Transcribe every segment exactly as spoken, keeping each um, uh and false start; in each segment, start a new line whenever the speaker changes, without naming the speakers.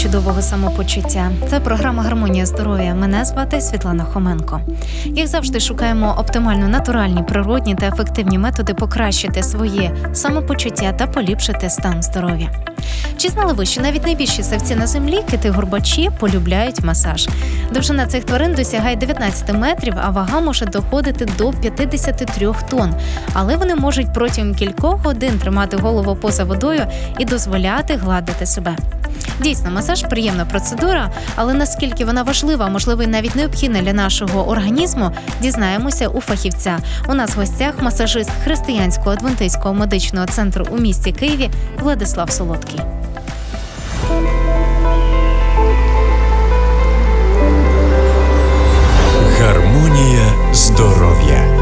чудового самопочуття. Це програма «Гармонія здоров'я». Мене звати Світлана Хоменко. Як завжди, шукаємо оптимально натуральні, природні та ефективні методи покращити своє самопочуття та поліпшити стан здоров'я. Чи знали ви, що навіть найбільші савці на землі, кити-горбачі, полюбляють масаж? Довжина цих тварин досягає дев'ятнадцять метрів, а вага може доходити до п'ятдесят три тонн. Але вони можуть протягом кількох годин тримати голову поза водою і дозволяти гладити себе. Дійсно, масаж – приємна процедура, але наскільки вона важлива, можливо, і навіть необхідна для нашого організму, дізнаємося у фахівця. У нас в гостях масажист Християнського адвентистського медичного центру у місті Києві Владислав Солодкий.
Гармонія здоров'я.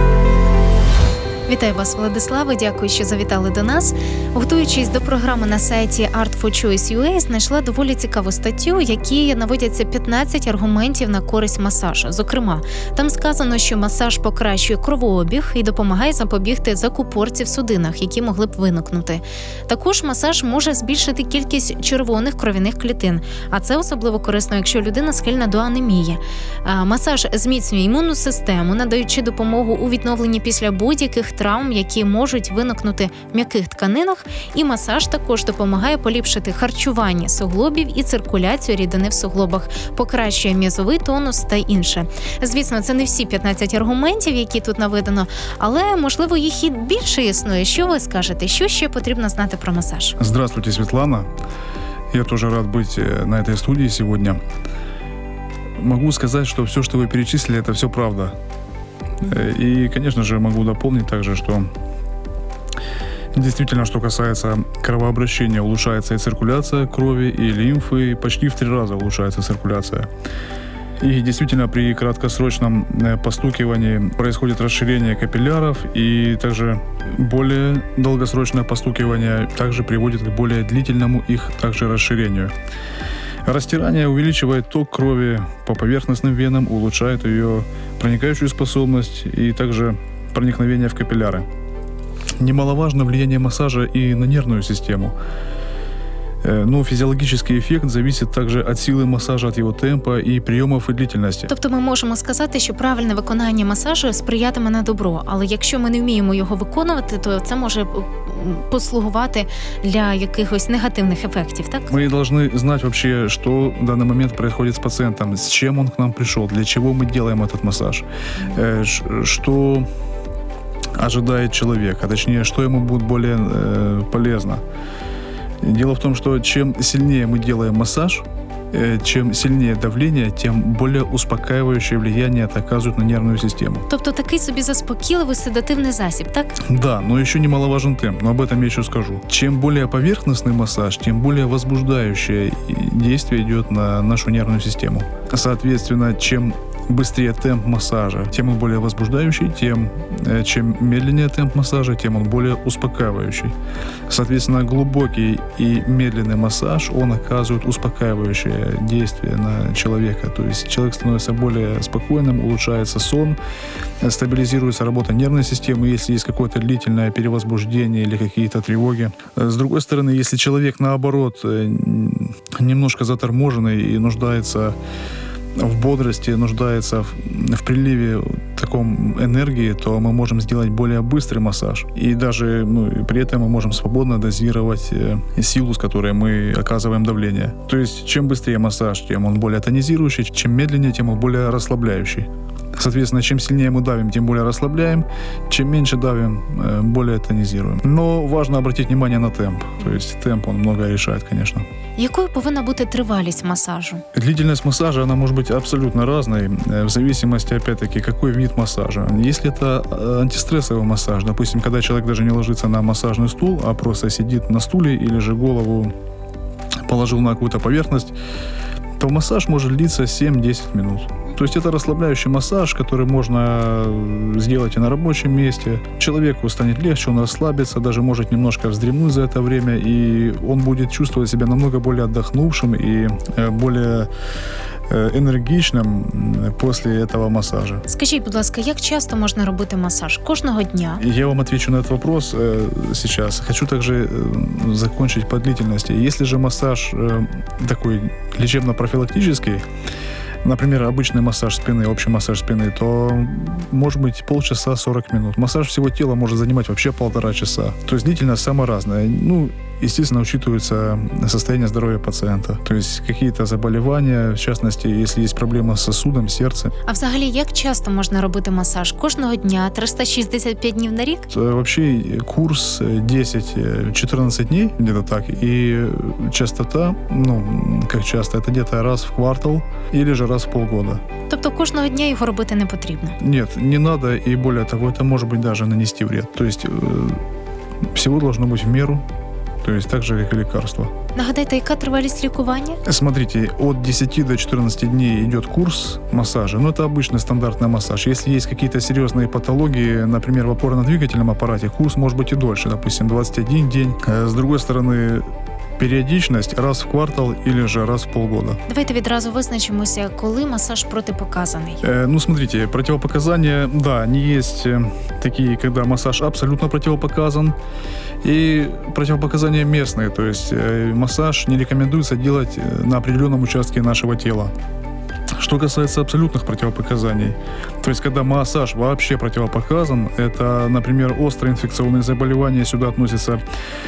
Вітаю вас, Владиславе, дякую, що завітали до нас. Готуючись до програми на сайті арт фор чойс крапка ю а, знайшла доволі цікаву статтю, в якій наводяться п'ятнадцять аргументів на користь масажу. Зокрема, там сказано, що масаж покращує кровообіг і допомагає запобігти закупорці в судинах, які могли б виникнути. Також масаж може збільшити кількість червоних кров'яних клітин, а це особливо корисно, якщо людина схильна до анемії. Масаж зміцнює імунну систему, надаючи допомогу у відновленні після будь-яких травм, які можуть виникнути в м'яких тканинах, і масаж також допомагає поліпшити харчування суглобів і циркуляцію рідини в суглобах, покращує м'язовий тонус та інше. Звісно, це не всі п'ятнадцять аргументів, які тут наведено, але, можливо, їх і більше існує. Що ви скажете? Що ще потрібно знати про масаж?
Здравствуйте, Светлана. Я тоже рад быть на этой студии сегодня. Могу сказать, что все, что вы перечислили, это все правда. И, конечно же, могу дополнить также, что действительно, что касается кровообращения, улучшается и циркуляция крови, и лимфы, и почти в три раза улучшается циркуляция. И действительно, при краткосрочном постукивании происходит расширение капилляров, и также более долгосрочное постукивание также приводит к более длительному их также расширению. Растирание увеличивает ток крови по поверхностным венам, улучшает ее проникающую способность и также проникновение в капилляры. Немаловажно влияние массажа и на нервную систему. Но фізіологічний ефект зависить також від сили масажу, від його темпу і прийомів і длительності.
Тобто ми можемо сказати, що правильне виконання масажу сприятиме на добро, але якщо ми не вміємо його виконувати, то це може послугувати для якихось негативних ефектів, так?
Ми повинні знати вообще, що в даний момент відбувається з пацієнтом, з чим він к нам прийшов, для чого ми робимо цей масаж, що ожидает человек, а точнее, что ему будет более э, полезно. Дело в том, что чем сильнее мы делаем массаж, э, чем сильнее давление, тем более успокаивающее влияние это оказывает на нервную систему.
Тобто такий собі заспокійливий седативний засіб, так?
Да, но еще немаловажен темп, но об этом я еще скажу. Чем более поверхностный массаж, тем более возбуждающее действие идет на нашу нервную систему. Соответственно, чем быстрее темп массажа, тем он более возбуждающий, тем чем медленнее темп массажа, тем он более успокаивающий. Соответственно, глубокий и медленный массаж, он оказывает успокаивающее действие на человека. То есть человек становится более спокойным, улучшается сон, стабилизируется работа нервной системы, если есть какое-то длительное перевозбуждение или какие-то тревоги. С другой стороны, если человек, наоборот, немножко заторможенный и нуждается в бодрости, нуждается в, в приливе таком энергии, то мы можем сделать более быстрый массаж. И даже ну, при этом мы можем свободно дозировать э, силу, с которой мы оказываем давление. То есть, чем быстрее массаж, тем он более тонизирующий, чем медленнее, тем он более расслабляющий. Соответственно, чем сильнее мы давим, тем более расслабляем, чем меньше давим, более тонизируем. Но важно обратить внимание на темп. То есть темп, он многое решает, конечно.
Якою повинна бути тривалість масажу?
Длительность массажа, она может быть абсолютно разной, в зависимости, опять-таки, какой вид массажа. Если это антистрессовый массаж, допустим, когда человек даже не ложится на массажный стул, а просто сидит на стуле или же голову положил на какую-то поверхность, то массаж может длиться семь-десять минут. То есть это расслабляющий массаж, который можно сделать и на рабочем месте. Человеку станет легче, он расслабится, даже может немножко вздремнуть за это время, и он будет чувствовать себя намного более отдохнувшим и более э, энергичным м, после этого массажа.
Скажіть, будь ласка, як часто можна робити масаж? Кожного дня?
Я вам отвечу на этот вопрос э, сейчас. Хочу также э, закончить по длительности. Если же массаж э, такой лечебно-профилактический, например, обычный массаж спины, общий массаж спины, то может быть полчаса сорок минут. Массаж всего тела может занимать вообще полтора часа. То есть длительность самая разная. Ну, естественно, учитывается состояние здоровья пациента. То есть какие-то заболевания, в частности, если есть проблема с сосудом, сердцем.
А взагалі, як часто можна робити масаж? Кожного дня, триста шістдесят п'ять днів на рік?
Э, Вообще курс десять-четырнадцать дней, где-то так, и частота, ну, как часто, это где-то раз в квартал или же раз в полгода.
Тобто кожного дня його робити не потрібно?
Нет, не надо, и более того, это может быть даже нанести вред. То есть э, всего должно быть в меру, то есть так же, как и лекарство.
Нагадайте, яка тривалість лікування?
Смотрите, от десяти до четырнадцати дней идет курс массажа, но это обычный стандартный массаж. Если есть какие-то серьезные патологии, например, в опорно-двигательном аппарате, курс может быть и дольше, допустим, двадцать один день. Э, С другой стороны, периодичность раз в квартал или же раз в полгода.
Давайте відразу визначимося, коли масаж протипоказаний.
Э, Ну, смотрите, противопоказания, да, они есть э, такие, когда массаж абсолютно противопоказан, и противопоказания местные, то есть э, массаж не рекомендуется делать э, на определенном участке нашего тела. Что касается абсолютных противопоказаний, то есть когда массаж вообще противопоказан, это, например, острые инфекционные заболевания, сюда относятся,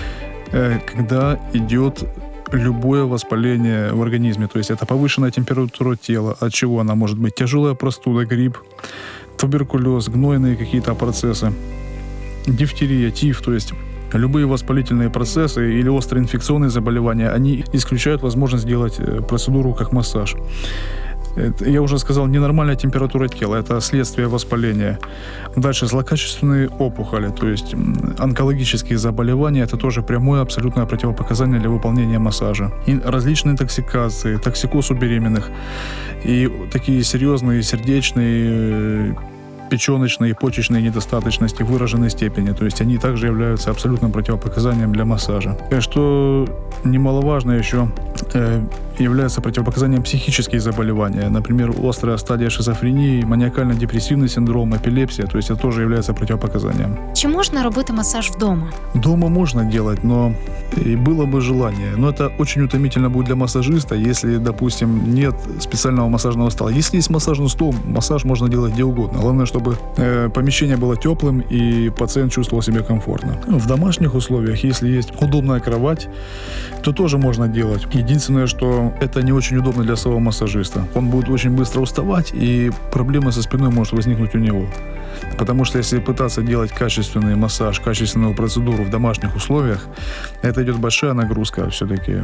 э, когда идет любое воспаление в организме, то есть это повышенная температура тела, от чего она может быть тяжелая простуда, грипп, туберкулез, гнойные какие-то процессы, дифтерия, тиф, то есть любые воспалительные процессы или острые инфекционные заболевания, они исключают возможность делать э, процедуру как массаж. Это, я уже сказал, ненормальная температура тела, это следствие воспаления. Дальше злокачественные опухоли, то есть м, онкологические заболевания, это тоже прямое абсолютное противопоказание для выполнения массажа. И различные интоксикации, токсикоз у беременных и такие серьезные сердечные, э, печёночные и почечные недостаточности в выраженной степени, то есть они также являются абсолютным противопоказанием для массажа. И что немаловажно еще, э, является противопоказанием психические заболевания, например, острая стадия шизофрении, маниакально-депрессивный синдром, эпилепсия, то есть это тоже является противопоказанием.
Чи можна робити масаж вдома?
Дома можно делать, но и было бы желание. Но это очень утомительно будет для массажиста, если, допустим, нет специального массажного стола. Если есть массажный стол, массаж можно делать где угодно. Главное, чтобы э, помещение было теплым и пациент чувствовал себя комфортно. В домашних условиях, если есть удобная кровать, то тоже можно делать. Единственное, что это не очень удобно для самого массажиста. Он будет очень быстро уставать, и проблема со спиной может возникнуть у него. Потому что если пытаться делать качественный массаж, качественную процедуру в домашних условиях, это идет большая нагрузка все-таки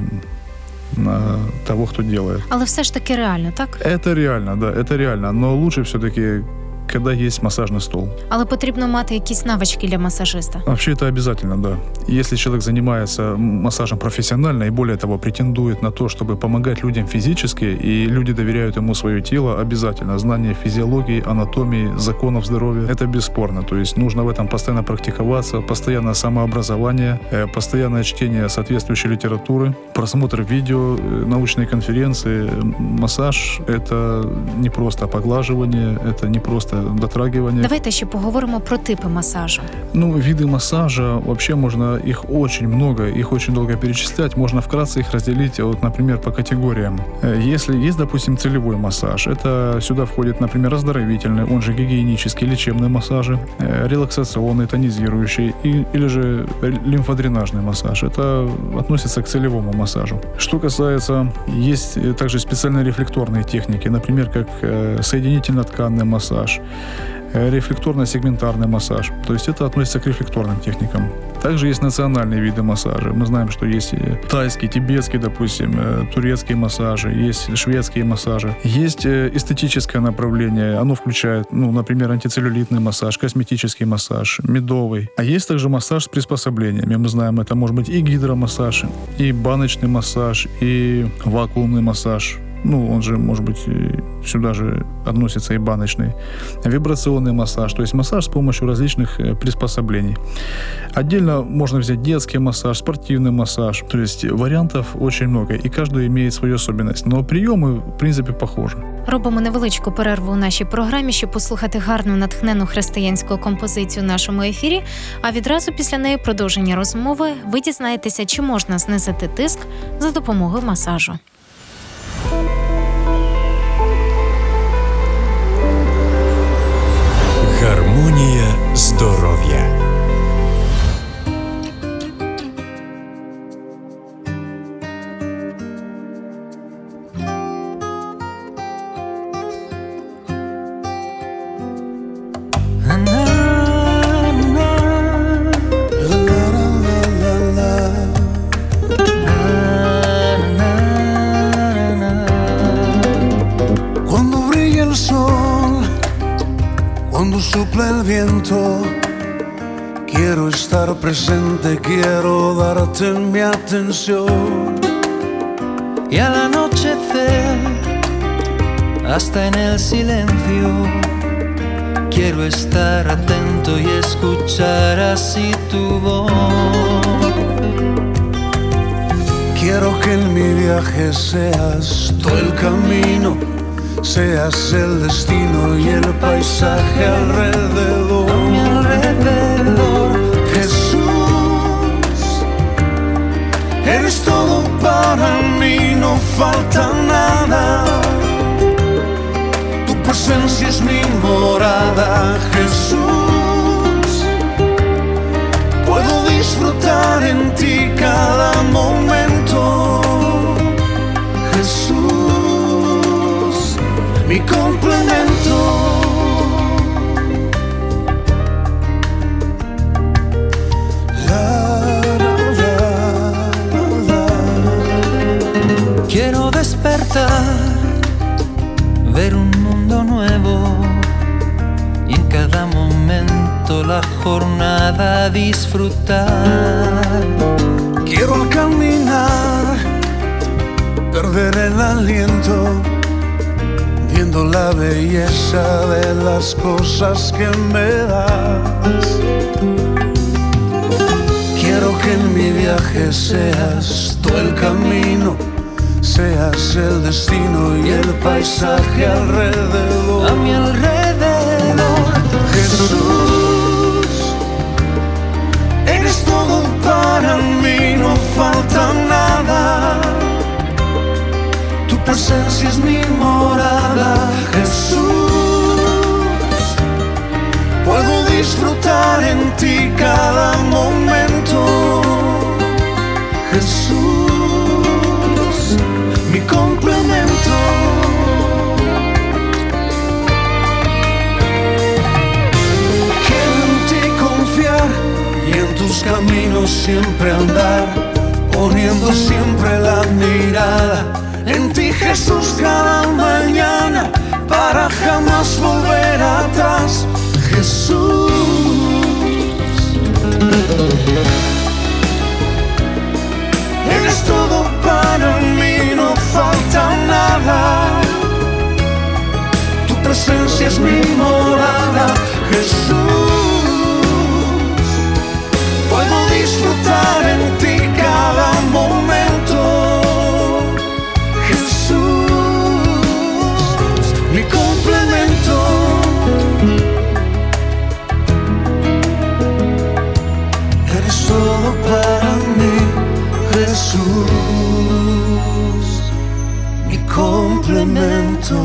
на того, кто делает.
Але все ж таки реально, так?
Это реально, да, это реально. Но лучше все-таки, когда есть массажный стол.
Але потрібно мати якісь навички для масажиста.
Вообще это обязательно, да. Если человек занимается массажем профессионально и, более того, претендует на то, чтобы помогать людям физически, и люди доверяют ему свое тело, обязательно знание физиологии, анатомии, законов здоровья, это бесспорно. То есть нужно в этом постоянно практиковаться, постоянное самообразование, э, постоянное чтение соответствующей литературы, просмотр видео, э, научные конференции. Массаж — это не просто поглаживание, это не просто дотрагивание.
Давайте ще поговоримо про типи масажу.
Ну, виды массажа, вообще можно, их очень много, их очень долго перечислять. Можно вкратце их разделить, вот, например, по категориям. Э, Если есть, допустим, целевой массаж, это сюда входит, например, оздоровительный, он же гигиенический, лечебные массажи, э, релаксационный, тонизирующий, и, или же лимфодренажный массаж. Это относится к целевому массажу. Что касается, есть э, также специальные рефлекторные техники, например, как э, соединительно-тканный массаж, рефлекторно-сегментарный массаж. То есть это относится к рефлекторным техникам. Также есть национальные виды массажа. Мы знаем, что есть тайский, тибетский, допустим, турецкие массажи, есть шведские массажи. Есть эстетическое направление. Оно включает, ну, например, антицеллюлитный массаж, косметический массаж, медовый. А есть также массаж с приспособлениями. Мы знаем, это может быть и гидромассаж, и баночный массаж, и вакуумный массаж. ну, он же, может быть, и сюда же относится и баночный, вибрационный массаж, то есть массаж с помощью различных э, приспособлений. Отдельно можно взять детский массаж, спортивный массаж, то есть вариантов очень много, и каждый имеет свою особенность, но приемы, в принципе, похожи.
Робимо невеличку перерву у нашій програмі, щоб послухати гарну натхнену християнську композицію в нашому ефірі, а відразу після неї продовження розмови ви дізнаєтеся, чи можна знизити тиск за допомогою масажу.
Гармонія здоров'я.
Cuando sopla el viento, quiero estar presente, quiero darte mi atención.
Y al anochecer, hasta en el silencio, quiero estar atento y escuchar así tu voz.
Quiero que en mi viaje seas tú el camino, seas el destino y el paisaje alrededor.
A mi alrededor,
Jesús, eres todo para mí, no falta nada. Tu presencia es mi morada, Jesús. Puedo disfrutar en ti cada momento, Jesús, mi complemento. La, la, la, la.
quiero despertar, ver un mundo nuevo y en cada momento la jornada disfrutar.
Quiero al caminar perder el aliento, viendo la belleza de las cosas que me das. Quiero que en mi viaje seas tú el camino, seas el destino y el paisaje alrededor.
A mi alrededor,
Jesús, eres todo para mí, no falta nada. Tu presencia es mi morada, Jesús. Puedo disfrutar en ti cada momento, Jesús, mi complemento. Quiero en ti confiar y en tus caminos siempre andar, poniendo siempre la mirada en ti, Jesús, cada mañana, para jamás volver atrás, Jesús. Eres todo para mí, no falta nada. Tu presencia es mi morada, Jesús. Puedo disfrutar en ti cada momento, Jesús, mi complemento. Eres todo para mí, Jesús, mi complemento.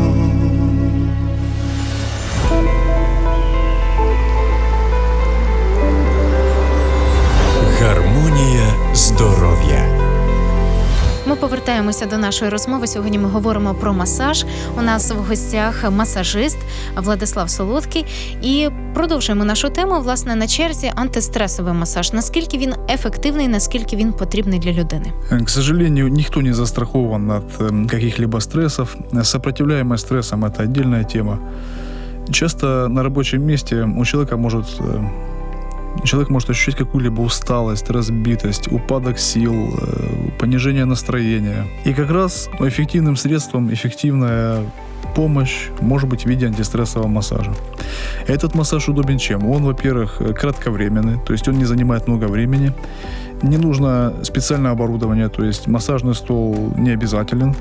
Гармонія здоров'я.
Ми повертаємося до нашої розмови. Сьогодні ми говоримо про масаж. У нас в гостях масажист Владислав Солодкий. І продовжуємо нашу тему. Власне, на черзі антистресовий масаж. Наскільки він ефективний, наскільки він потрібний для людини?
К сожалению, никто не застрахован от каких-либо стрессов. Сопротивляемость стрессам – это отдельная тема. Часто на рабочем месте у человека может человек может ощущать какую-либо усталость, разбитость, упадок сил, э, понижение настроения. И как раз эффективным средством, эффективная помощь может быть в виде антистрессового массажа. Этот массаж удобен чем? Он, во-первых, кратковременный, то есть он не занимает много времени. Не нужно специальное оборудование, то есть массажный стол не обязателен.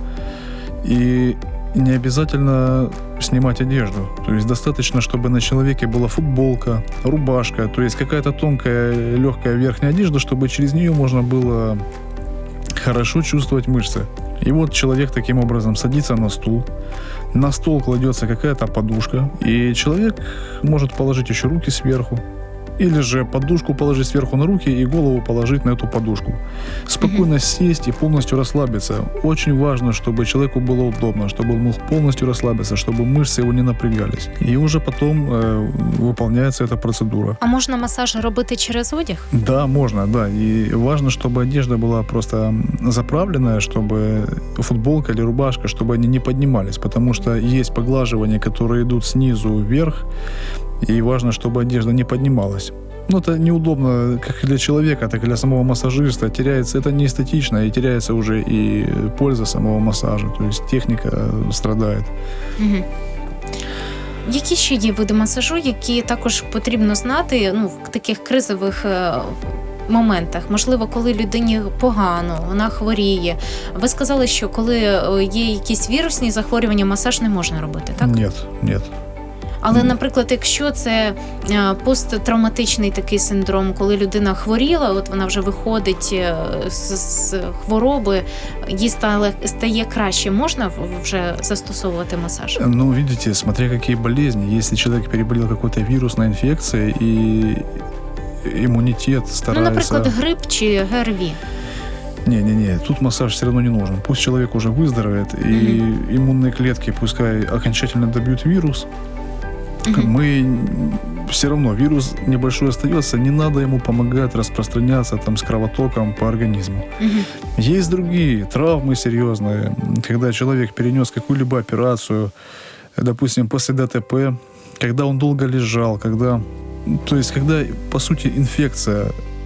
И не обязательно снимать одежду. То есть достаточно, чтобы на человеке была футболка, рубашка, то есть какая-то тонкая, легкая верхняя одежда, чтобы через нее можно было хорошо чувствовать мышцы. И вот человек таким образом садится на стул, на стол кладется какая-то подушка, и человек может положить еще руки сверху, или же подушку положить сверху на руки и голову положить на эту подушку. Спокойно mm-hmm. сесть и полностью расслабиться. Очень важно, чтобы человеку было удобно, чтобы он мог полностью расслабиться, чтобы мышцы его не напрягались. И уже потом э, выполняется эта процедура.
А можна массаж робити через одяг?
Да, можно, да. И важно, чтобы одежда была просто заправленная, чтобы футболка или рубашка, чтобы они не поднимались, потому что есть поглаживания, которые идут снизу вверх, и важно, чтобы одежда не поднималась. Ну, это неудобно как для человека, так и для самого массажиста. Теряется, это не эстетично, и теряется уже и польза самого массажа. То есть техника страдает.
Угу. Які ще є види масажу, які також потрібно знати, ну, в таких кризових моментах? Можливо, коли людині погано, вона хворіє. Ви сказали, що коли є якісь вірусні захворювання, масаж не можна робити, так?
Ні, ні.
Але, наприклад, якщо це посттравматичний такий синдром, коли людина хворіла, от вона вже виходить з, з хвороби, їй стає, стає краще, можна вже застосовувати массаж?
Ну, видите, смотря какие болезни. Если человек переболел какой-то вирусной инфекцией и иммунитет старается...
Ну, наприклад, грип чи ГРВІ.
Не-не-не, тут массаж все равно не нужен. Пусть человек уже выздоровеет, mm-hmm. и иммунные клетки пускай окончательно добьют вирус. Mm-hmm. Мы все равно, вирус небольшой остается, не надо ему помогать распространяться там с кровотоком по организму. Mm-hmm. Есть другие травмы серьезные, когда человек перенес какую-либо операцию, допустим, после ДТП, когда он долго лежал, когда, то есть когда, по сути, инфекция,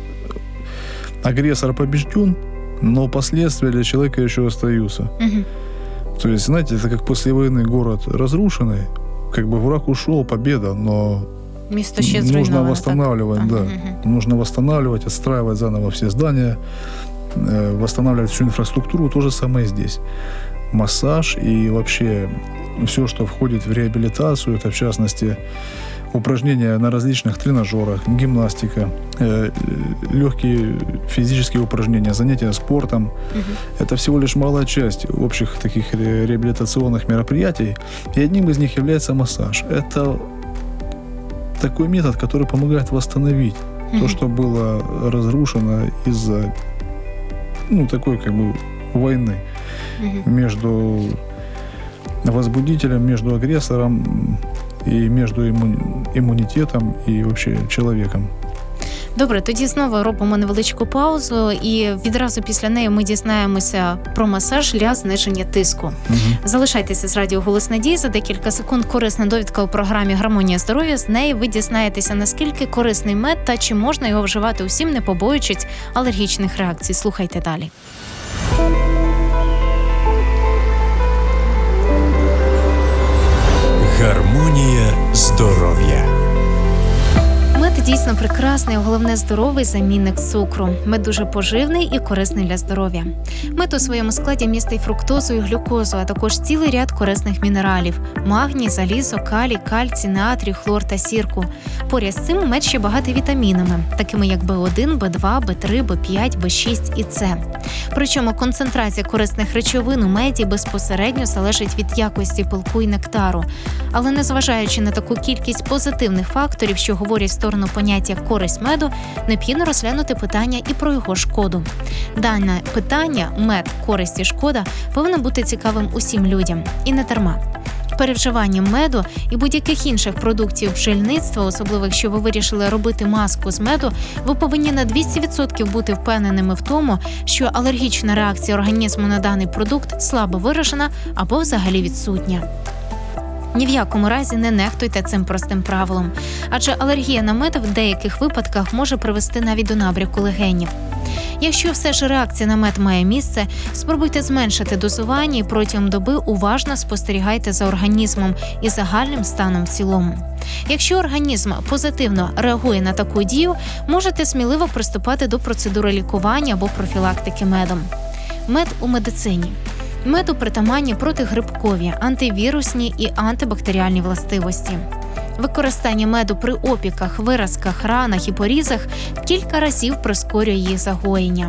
агрессор побежден, но последствия для человека еще остаются. Mm-hmm. То есть, знаете, это как после войны город разрушенный, как бы враг ушел, победа, но нужно восстанавливать, так? да. Uh-huh. Нужно восстанавливать, отстраивать заново все здания, э, восстанавливать всю инфраструктуру. То же самое здесь. Массаж и вообще все, что входит в реабилитацию, это в частности упражнения на различных тренажерах, гимнастика, э, легкие физические упражнения, занятия спортом. Uh-huh. Это всего лишь малая часть общих таких ре- реабилитационных мероприятий. И одним из них является массаж. Это такой метод, который помогает восстановить uh-huh. то, что было разрушено из-за ну, такой как бы войны uh-huh. между возбудителем, между агрессором і між імунітетом і вообще чоловіком.
Добре, тоді знову робимо невеличку паузу і відразу після неї ми дізнаємося про масаж для зниження тиску. Угу. Залишайтеся з радіо «Голос Надії». За декілька секунд корисна довідка у програмі «Гармонія здоров'я». З неї ви дізнаєтеся, наскільки корисний мед та чи можна його вживати усім, не побоюючись алергічних реакцій. Слухайте далі.
Гармонія здоров'я.
Мед дійсно прекрасний, а головне здоровий замінник цукру. Мед дуже поживний і корисний для здоров'я. Мед у своєму складі містить фруктозу і глюкозу, а також цілий ряд корисних мінералів – магній, залізо, калій, кальцій, натрій, хлор та сірку. Поряд з цим мед ще багатий вітамінами, такими як Б один, Б два, Б три, Б п'ять, Б шість і С. Причому концентрація корисних речовин у меді безпосередньо залежить від якості пилку і нектару. Але незважаючи на таку кількість позитивних факторів, що говорять в сторону поняття «користь меду», необхідно розглянути питання і про його шкоду. Дане питання «мед, користь і шкода» повинно бути цікавим усім людям. І не дарма. Перевживанням меду і будь-яких інших продуктів бджільництва, особливо якщо ви вирішили робити маску з меду, ви повинні на двісті відсотків бути впевненими в тому, що алергічна реакція організму на даний продукт слабо виражена або взагалі відсутня. Ні в якому разі не нехтуйте цим простим правилом, адже алергія на мед в деяких випадках може привести навіть до набряку легенів. Якщо все ж реакція на мед має місце, спробуйте зменшити дозування і протягом доби уважно спостерігайте за організмом і загальним станом в цілому. Якщо організм позитивно реагує на таку дію, можете сміливо приступати до процедури лікування або профілактики медом. Мед у медицині. Меду притаманні протигрибкові, антивірусні і антибактеріальні властивості. Використання меду при опіках, виразках, ранах і порізах кілька разів прискорює їх загоєння.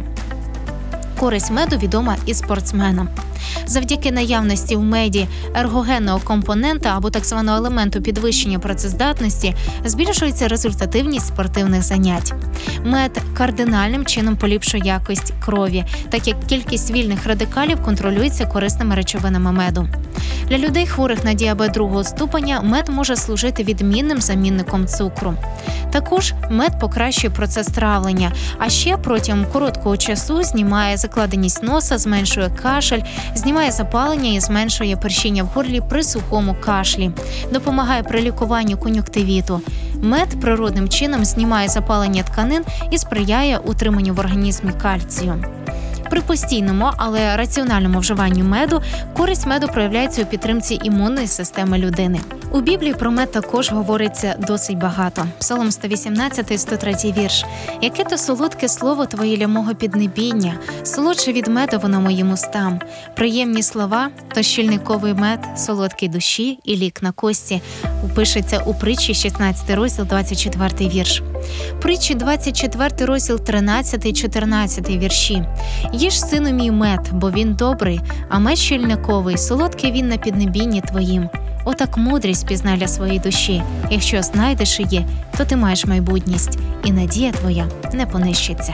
Користь меду відома і спортсменам. Завдяки наявності в меді ергогенного компонента або так званого елементу підвищення працездатності збільшується результативність спортивних занять. Мед кардинальним чином поліпшує якість крові, так як кількість вільних радикалів контролюється корисними речовинами меду. Для людей, хворих на діабет другого ступеня, мед може служити відмінним замінником цукру. Також мед покращує процес травлення, а ще протягом короткого часу знімає закладеність носа, зменшує кашель, знімає запалення і зменшує першіння в горлі при сухому кашлі, допомагає при лікуванні кон'юнктивіту. Мед природним чином знімає запалення тканин і сприяє утриманню в організмі кальцію. При постійному, але раціональному вживанні меду користь меду проявляється у підтримці імунної системи людини. У Біблії про мед також говориться досить багато. Псалом сто вісімнадцятий, сто третій вірш. «Яке то солодке слово твоє для мого піднебіння, солодше від меду воно моїм устам. Приємні слова, то щільниковий мед, солодкий душі і лік на кості». Пишеться у притчі шістнадцятий розділ, двадцять четвертий вірш. Притчі двадцять четвертий розділ, тринадцятий, чотирнадцятий вірші. «Їж, сину мій, мед, бо він добрий, а мед щільниковий, солодкий він на піднебінні твоїм. Отак мудрість пізнай для своєї душі. Якщо знайдеш її, то ти маєш майбутність, і надія твоя не понищиться».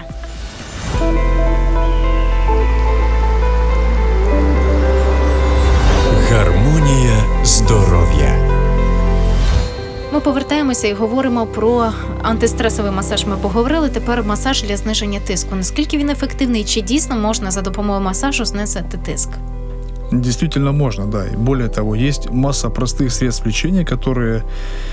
Гармонія здоров'я.
Ми повертаємося і говоримо про антистресовий масаж. Ми поговорили, тепер масаж для зниження тиску. Наскільки він ефективний, чи дійсно можна за допомогою масажу знизити тиск?
Действительно можно, да. И более того, есть масса простых средств лечения, которые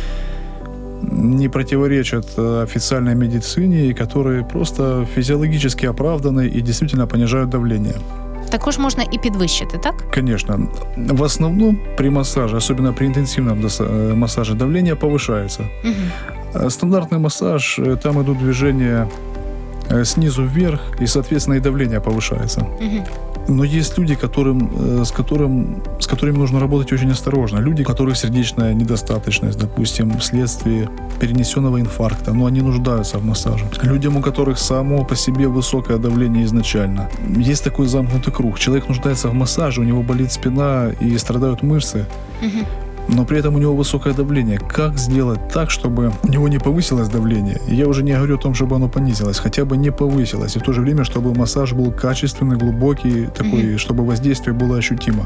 не противоречат официальной медицине и которые просто физиологически оправданы и действительно понижают давление.
Також можна і підвищити, так?
Конечно. В основном при массаже, особенно при интенсивном массаже, давление повышается.
Угу.
Стандартный массаж, там идут движения снизу вверх, и, соответственно, и давление повышается.
Угу.
Но есть люди, которым, с, которым, с которыми нужно работать очень осторожно. Люди, у которых сердечная недостаточность, допустим, вследствие перенесенного инфаркта, но они нуждаются в массаже. Людям, у которых само по себе высокое давление изначально. Есть такой замкнутый круг. Человек нуждается в массаже, у него болит спина и страдают мышцы.
Угу.
Но при этом у него высокое давление. Как сделать так, чтобы у него не повысилось давление? Я уже не говорю о том, чтобы оно понизилось, хотя бы не повысилось. И в то же время, чтобы массаж был качественный, глубокий, такой, mm-hmm. чтобы воздействие было ощутимо.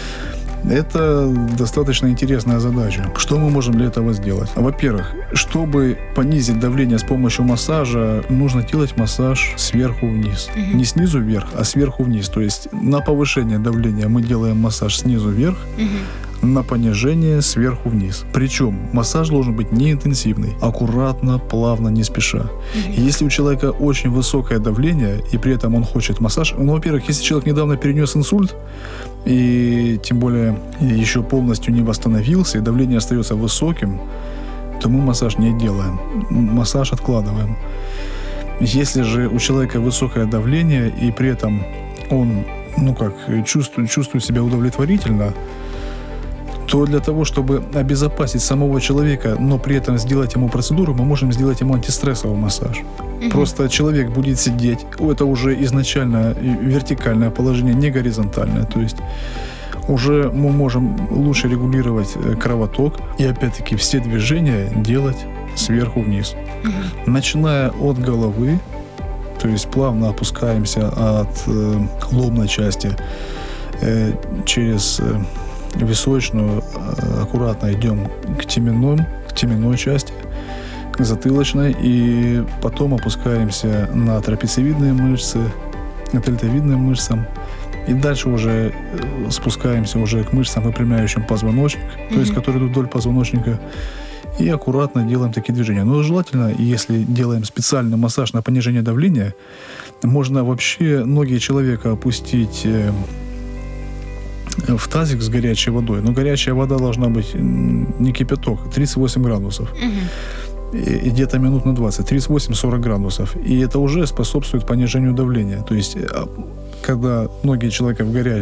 Это достаточно интересная задача. Что мы можем для этого сделать? Во-первых, чтобы понизить давление с помощью массажа, нужно делать массаж сверху вниз. Mm-hmm. Не снизу вверх, а сверху вниз. То есть на повышение давления мы делаем массаж снизу вверх, mm-hmm. на понижение сверху вниз. Причем массаж должен быть не интенсивный, аккуратно, плавно, не спеша. Mm-hmm. Если у человека очень высокое давление, и при этом он хочет массаж, ну, во-первых, если человек недавно перенес инсульт, и тем более еще полностью не восстановился, и давление остается высоким, то мы массаж не делаем. Массаж откладываем. Если же у человека высокое давление, и при этом он, ну как, чувствует, чувствует себя удовлетворительно, то для того, чтобы обезопасить самого человека, но при этом сделать ему процедуру, мы можем сделать ему антистрессовый массаж. Угу. Просто человек будет сидеть, это уже изначально вертикальное положение, не горизонтальное, то есть уже мы можем лучше регулировать кровоток и опять-таки все движения делать сверху вниз. Угу. Начиная от головы, то есть плавно опускаемся от э, лобной части э, через э, височную, аккуратно идем к теменной, к теменной части, к затылочной, и потом опускаемся на трапециевидные мышцы, к дельтовидным мышцам, И дальше уже э, спускаемся уже к мышцам, выпрямляющим позвоночник, mm-hmm. то есть которые идут вдоль позвоночника. И аккуратно делаем такие движения. Но желательно, если делаем специальный массаж на понижение давления, можно вообще ноги человека опустить в тазик с горячей водой. Но горячая вода должна быть не кипяток, тридцать восемь градусов. Угу. И, и где-то минут на двадцать, тридцать восемь сорок градусов. И это уже способствует понижению давления. То есть, когда ноги человека в, горя...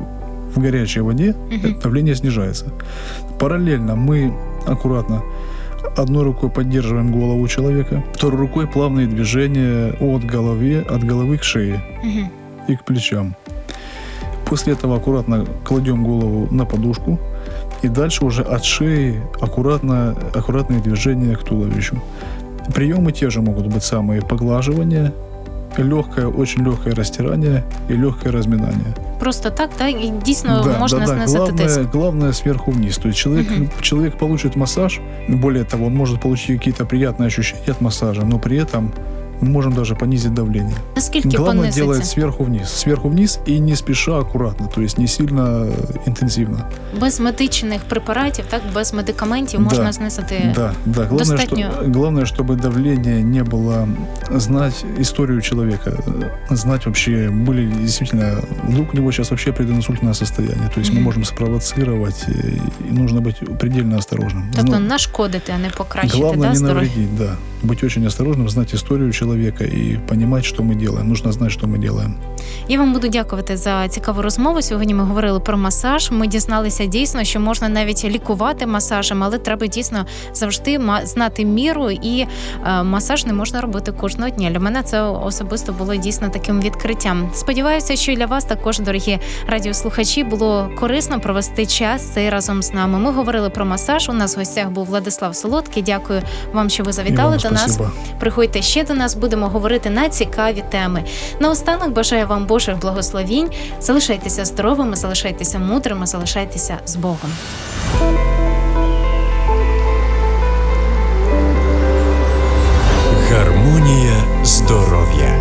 в горячей воде, угу. давление снижается. Параллельно мы аккуратно одной рукой поддерживаем голову человека, второй рукой плавные движения от головы, от головы к шее угу. и к плечам. После этого аккуратно кладем голову на подушку и дальше уже от шеи аккуратно, аккуратные движения к туловищу. Приемы те же могут быть самые: поглаживание, легкое, очень легкое растирание и легкое разминание.
Просто так, да, и дійсно да, можна
да, да.
снизити
Главное,
тиск.
Главное сверху вниз. То есть человек, угу. человек получит массаж, более того, он может получить какие-то приятные ощущения от массажа, но при этом мы можем даже понизить давление.
Наскільки
Главное
понизиться?
делать сверху вниз. Сверху вниз и не спеша, аккуратно, то есть не сильно интенсивно.
Без медичних препаратів, так, без медикаментів можна
да,
знизити
да, да. Главное,
достатньо.
Что, главное, чтобы давление не было, знать историю человека, знать вообще, были действительно, вдруг у него сейчас вообще прединсультное состояние, то есть mm-hmm. мы можем спровоцировать, и нужно быть предельно осторожным.
Тобто
Но
нашкодити, а не покращити,
главное
да,
не
здоров'я?
навредить, да. Быть очень осторожным, знать историю человека и понимать, что мы делаем. Нужно знать, что мы делаем.
Я вам буду дякувати за цікаву розмову. Сьогодні ми говорили про масаж. Ми дізналися дійсно, що можна навіть лікувати масажем, але треба дійсно завжди знати міру, і е, масаж не можна робити кожного дня. Для мене це особисто було дійсно таким відкриттям. Сподіваюся, що і для вас також, дорогі радіослухачі, було корисно провести час цей разом з нами. Ми говорили про масаж. У нас в гостях був Владислав Солодкий. Дякую вам, що ви завітали до нас. Приходьте ще до нас, будемо говорити на цікаві теми. Наостанок бажаю вам Божих благословінь. Залишайтеся здоровими, залишайтеся мудрими, залишайтеся з Богом.
Гармонія здоров'я.